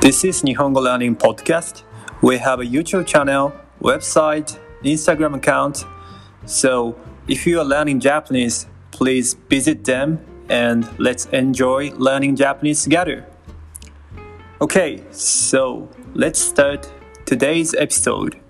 This is Nihongo Learning Podcast. We have a YouTube channel, website, Instagram account. So if you are learning Japanese, please visit them and let's enjoy learning Japanese together. Okay, so let's start today's episode.